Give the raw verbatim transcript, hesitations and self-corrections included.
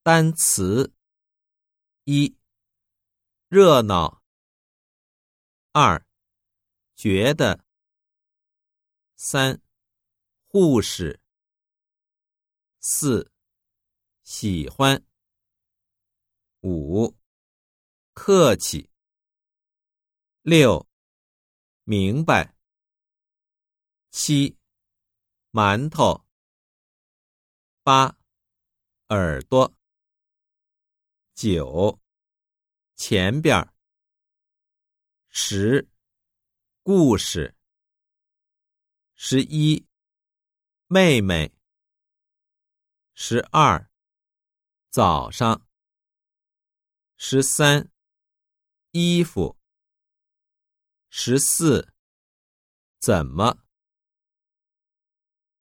单词：一、热闹；二、觉得；三、护士；四、喜欢；五、客气；六、明白；七、馒头；八、耳朵；九、前边；十、故事；十一、妹妹；十二、早上；十三、衣服；十四、怎么。